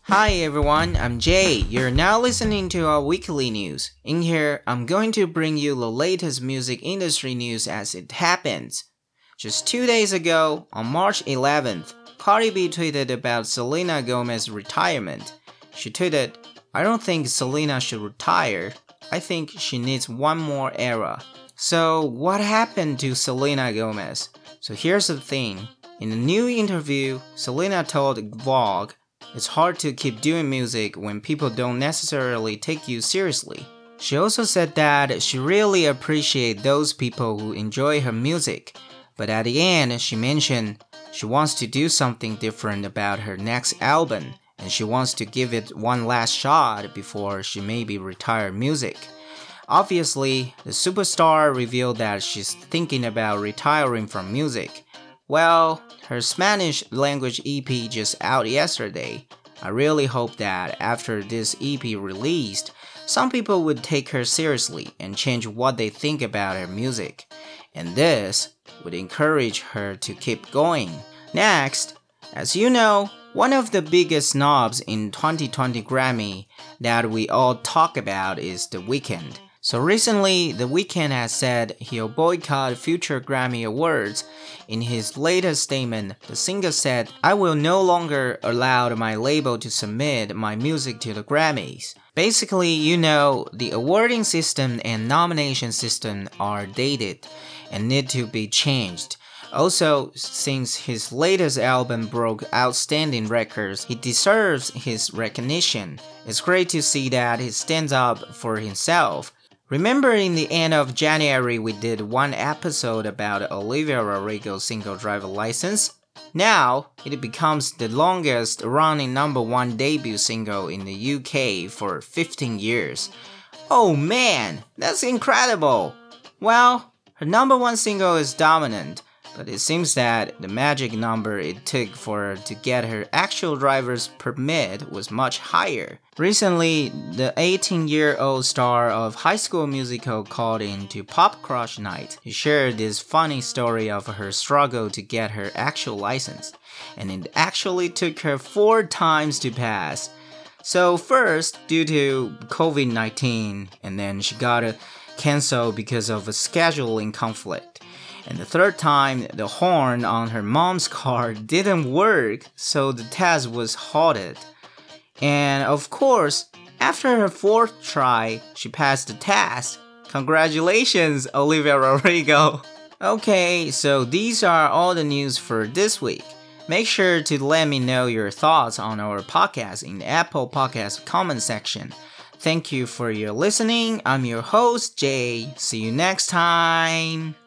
Hi everyone, I'm Jay. You're now listening to our weekly news. In here, I'm going to bring you the latest music industry news as it happens. Just 2 days ago, on March 11th, Cardi B tweeted about Selena Gomez's retirement. She tweeted, "I don't think Selena should retire. I think she needs one more era." So, what happened to Selena Gomez? So here's the thing. In a new interview, Selena told Vogue, "It's hard to keep doing music when people don't necessarily take you seriously." She also said that she really appreciates those people who enjoy her music, but at the end she mentioned she wants to do something different about her next album, and she wants to give it one last shot before she maybe retire music. Obviously, the superstar revealed that she's thinking about retiring from music. Well, her Spanish language EP just out yesterday. I really hope that after this EP released, some people would take her seriously and change what they think about her music. And this would encourage her to keep going. Next, as you know, one of the biggest snobs in 2020 Grammy that we all talk about is The Weeknd. So recently, The Weeknd has said he'll boycott future Grammy Awards. In his latest statement, the singer said, "I will no longer allow my label to submit my music to the Grammys." Basically, the awarding system and nomination system are dated and need to be changed. Also, since his latest album broke outstanding records, he deserves his recognition. It's great to see that he stands up for himself. Remember in the end of January we did one episode about Olivia Rodrigo's single driver license? Now, it becomes the longest running #1 debut single in the UK for 15 years. Oh man, that's incredible! Well, her #1 single is dominant, but it seems that the magic number it took for her to get her actual driver's permit was much higher. Recently, the 18-year-old star of High School Musical called in to Pop Crush Night to share this funny story of her struggle to get her actual license, and it actually took her 4 times to pass. So first, due to COVID-19, and then she got canceled because of a scheduling conflict. And the 3rd time, the horn on her mom's car didn't work, so the test was halted. And of course, after her 4th try, she passed the test. Congratulations, Olivia Rodrigo! Okay, so these are all the news for this week. Make sure to let me know your thoughts on our podcast in the Apple Podcast comment section. Thank you for your listening. I'm your host, Jay. See you next time!